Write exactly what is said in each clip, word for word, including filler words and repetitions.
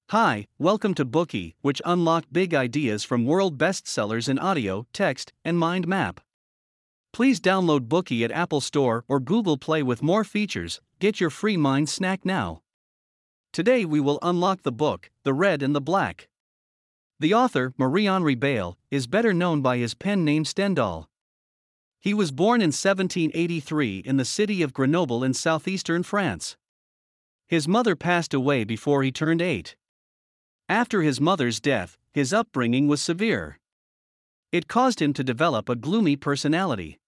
Hi, welcome to Bookie, which unlock big ideas from world bestsellers in audio, text, and mind map. Please download Bookie at Apple Store or Google Play with more features. Get your free mind snack now. Today we will unlock the book, The Red and the Black. The author, Marie-Henri Beyle, is better known by his pen name Stendhal. He was born in seventeen eighty-three in the city of Grenoble in southeastern France. His mother passed away before he turned eight. After his mother's death, his upbringing was severe. It caused him to develop a gloomy personality.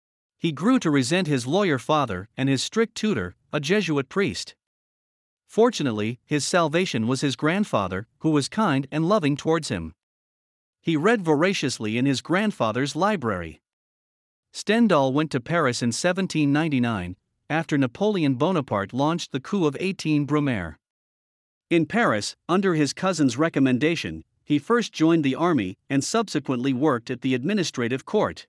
He grew to resent his lawyer father and his strict tutor, a Jesuit priest. Fortunately, his salvation was his grandfather, who was kind and loving towards him. He read voraciously in his grandfather's library. Stendhal went to Paris in seventeen ninety-nine, after Napoleon Bonaparte launched the coup of eighteen Brumaire. In Paris, under his cousin's recommendation, he first joined the army and subsequently worked at the administrative court.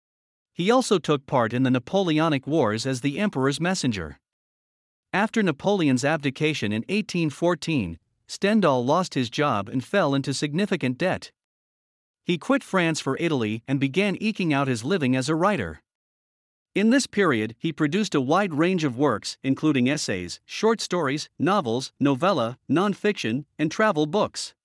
He also took part in the Napoleonic Wars as the emperor's messenger. After Napoleon's abdication in eighteen fourteen, Stendhal lost his job and fell into significant debt. He quit France for Italy and began eking out his living as a writer. In this period, he produced a wide range of works, including essays, short stories, novels, novella, non-fiction, and travel books.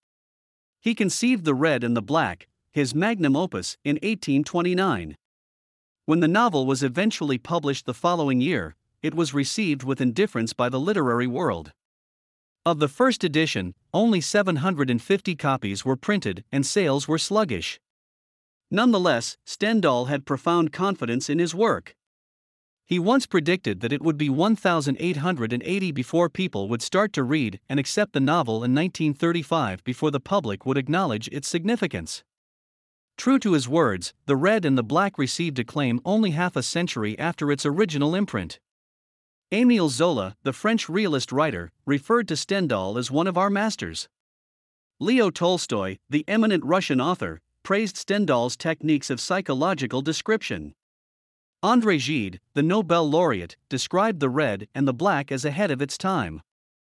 He conceived The Red and the Black, his magnum opus, in eighteen twenty-nine. When the novel was eventually published the following year, it was received with indifference by the literary world. Of the first edition, only seven hundred fifty copies were printed and sales were sluggish. Nonetheless, Stendhal had profound confidence in his work. He once predicted that it would be one thousand eight hundred eighty before people would start to read and accept the novel, in nineteen thirty-five before the public would acknowledge its significance. True to his words, The Red and the Black received acclaim only half a century after its original imprint. Émile Zola, the French realist writer, referred to Stendhal as one of our masters. Leo Tolstoy, the eminent Russian author, praised Stendhal's techniques of psychological description. André Gide, the Nobel laureate, described The Red and the Black as ahead of its time.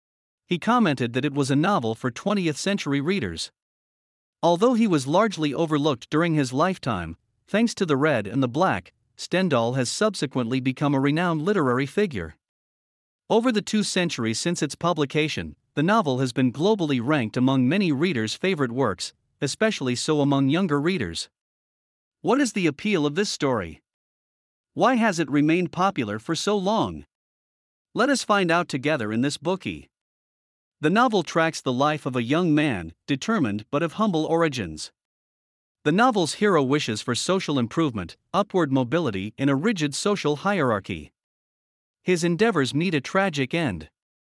He commented that it was a novel for twentieth century readers. Although he was largely overlooked during his lifetime, thanks to The Red and the Black, Stendhal has subsequently become a renowned literary figure. Over the two centuries since its publication, the novel has been globally ranked among many readers' favorite works, especially so among younger readers. What is the appeal of this story? Why has it remained popular for so long? Let us find out together in this Bookie. The novel tracks the life of a young man, determined but of humble origins. The novel's hero wishes for social improvement, upward mobility in a rigid social hierarchy. His endeavors meet a tragic end.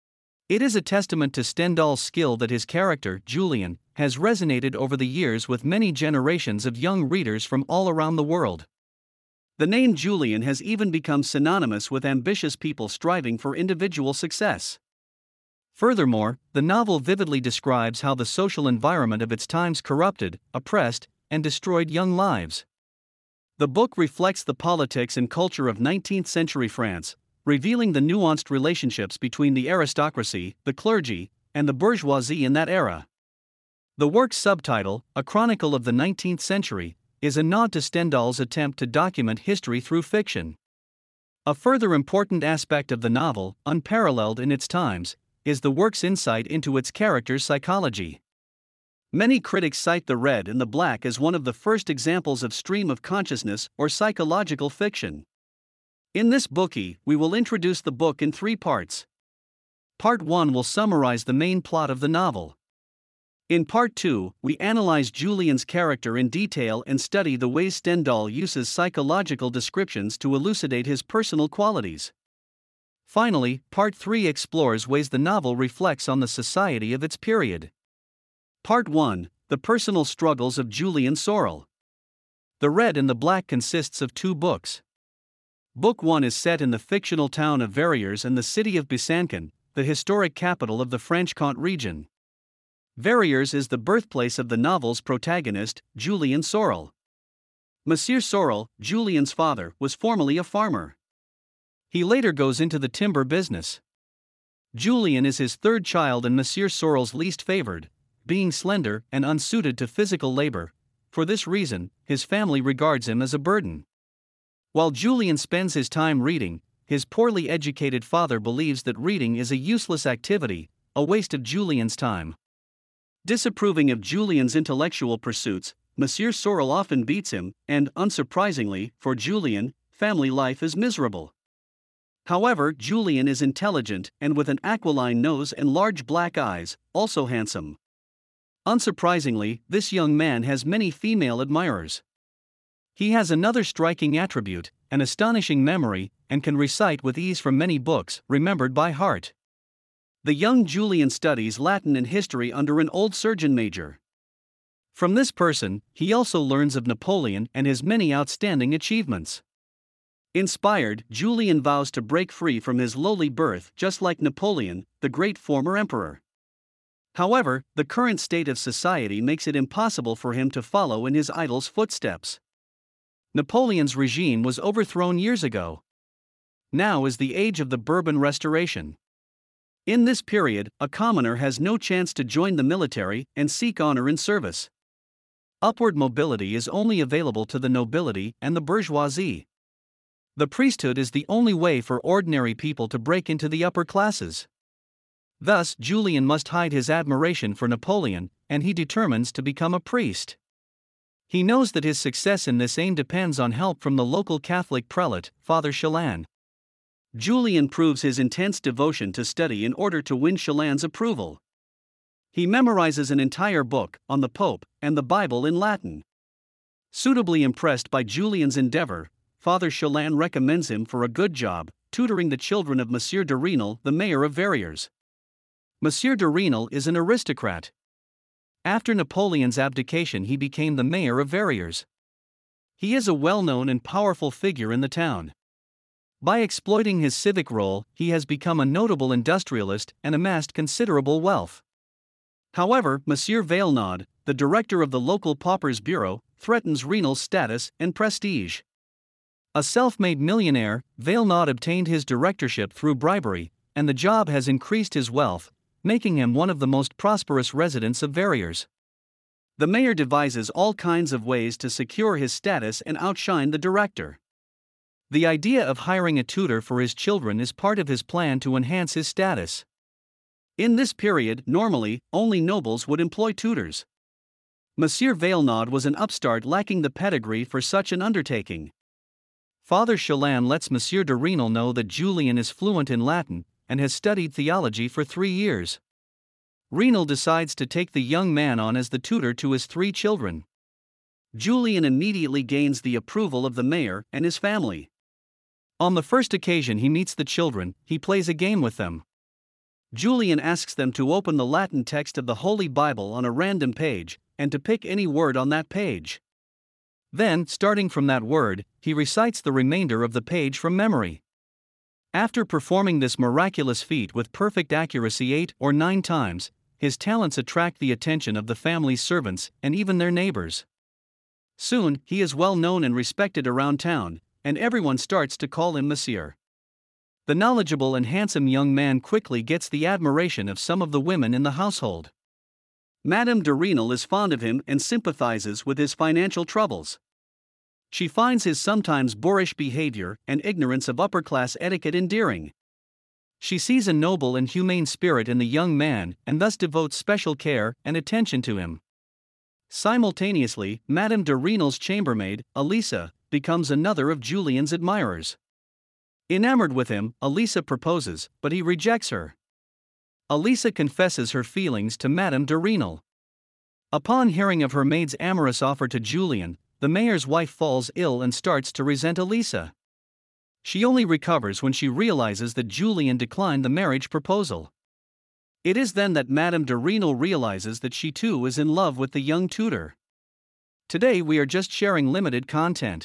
It is a testament to Stendhal's skill that his character, Julien, has resonated over the years with many generations of young readers from all around the world. The name Julien has even become synonymous with ambitious people striving for individual success. Furthermore, the novel vividly describes how the social environment of its times corrupted, oppressed, and destroyed young lives. The book reflects the politics and culture of nineteenth century France, revealing the nuanced relationships between the aristocracy, the clergy, and the bourgeoisie in that era. The work's subtitle, A Chronicle of the nineteenth Century, is a nod to Stendhal's attempt to document history through fiction. A further important aspect of the novel, unparalleled in its times, is the work's insight into its characters' psychology. Many critics cite The Red and the Black as one of the first examples of stream of consciousness or psychological fiction. In this Bookie, we will introduce the book in three parts. Part one will summarize the main plot of the novel. In Part two, we analyze Julien's character in detail and study the ways Stendhal uses psychological descriptions to elucidate his personal qualities. Finally, Part three explores ways the novel reflects on the society of its period. Part one, The Personal Struggles of Julien Sorel. The Red and the Black consists of two books. Book one is set in the fictional town of Verrières and the city of Besançon, the historic capital of the Franche-Comté region. Verrières is the birthplace of the novel's protagonist, Julien Sorel. Monsieur Sorel, Julien's father, was formerly a farmer. He later goes into the timber business. Julian is his third child and Monsieur Sorel's least favored, being slender and unsuited to physical labor. For this reason, his family regards him as a burden. While Julian spends his time reading, his poorly educated father believes that reading is a useless activity, a waste of Julian's time. Disapproving of Julian's intellectual pursuits, Monsieur Sorel often beats him, and, unsurprisingly, for Julian, family life is miserable. However, Julian is intelligent and with an aquiline nose and large black eyes, also handsome. Unsurprisingly, this young man has many female admirers. He has another striking attribute, an astonishing memory, and can recite with ease from many books, remembered by heart. The young Julian studies Latin and history under an old surgeon major. From this person, he also learns of Napoleon and his many outstanding achievements. Inspired, Julian vows to break free from his lowly birth just like Napoleon, the great former emperor. However, the current state of society makes it impossible for him to follow in his idol's footsteps. Napoleon's regime was overthrown years ago. Now is the age of the Bourbon Restoration. In this period, a commoner has no chance to join the military and seek honor in service. Upward mobility is only available to the nobility and the bourgeoisie. The priesthood is the only way for ordinary people to break into the upper classes. Thus, Julian must hide his admiration for Napoleon, and he determines to become a priest. He knows that his success in this aim depends on help from the local Catholic prelate, Father Chalan. Julian proves his intense devotion to study in order to win Chalan's approval. He memorizes an entire book on the Pope and the Bible in Latin. Suitably impressed by Julian's endeavor, Father Chalan recommends him for a good job, tutoring the children of Monsieur de Renal, the mayor of Verrières. Monsieur de Renal is an aristocrat. After Napoleon's abdication, he became the mayor of Verrières. He is a well-known and powerful figure in the town. By exploiting his civic role, he has become a notable industrialist and amassed considerable wealth. However, Monsieur Vailnaud, the director of the local paupers bureau, threatens Renal's status and prestige. A self-made millionaire, Vailnaud obtained his directorship through bribery, and the job has increased his wealth, making him one of the most prosperous residents of Verrières. The mayor devises all kinds of ways to secure his status and outshine the director. The idea of hiring a tutor for his children is part of his plan to enhance his status. In this period, normally, only nobles would employ tutors. Monsieur Vailnaud was an upstart lacking the pedigree for such an undertaking. Father Chalan lets Monsieur de Renal know that Julian is fluent in Latin and has studied theology for three years. Renal decides to take the young man on as the tutor to his three children. Julian immediately gains the approval of the mayor and his family. On the first occasion he meets the children, he plays a game with them. Julian asks them to open the Latin text of the Holy Bible on a random page, and to pick any word on that page. Then, starting from that word, he recites the remainder of the page from memory. After performing this miraculous feat with perfect accuracy eight or nine times, his talents attract the attention of the family's servants and even their neighbors. Soon, he is well known and respected around town, and everyone starts to call him Monsieur. The knowledgeable and handsome young man quickly gets the admiration of some of the women in the household. Madame de Renal is fond of him and sympathizes with his financial troubles. She finds his sometimes boorish behavior and ignorance of upper-class etiquette endearing. She sees a noble and humane spirit in the young man and thus devotes special care and attention to him. Simultaneously, Madame de Renal's chambermaid, Elisa, becomes another of Julian's admirers. Enamored with him, Elisa proposes, but he rejects her. Elisa confesses her feelings to Madame de Renal. Upon hearing of her maid's amorous offer to Julian, the mayor's wife falls ill and starts to resent Elisa. She only recovers when she realizes that Julian declined the marriage proposal. It is then that Madame de Renal realizes that she too is in love with the young tutor. Today we are just sharing limited content.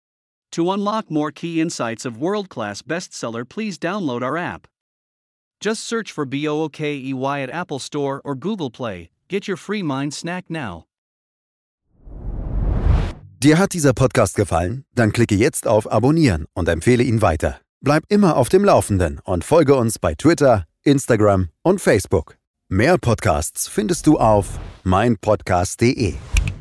To unlock more key insights of world-class bestseller, please download our app. Just search for Bookey at Apple Store or Google Play. Get your free mind snack now. Dir hat dieser Podcast gefallen? Dann klicke jetzt auf Abonnieren und empfehle ihn weiter. Bleib immer auf dem Laufenden und folge uns bei Twitter, Instagram und Facebook. Mehr Podcasts findest du auf meinpodcast punkt de.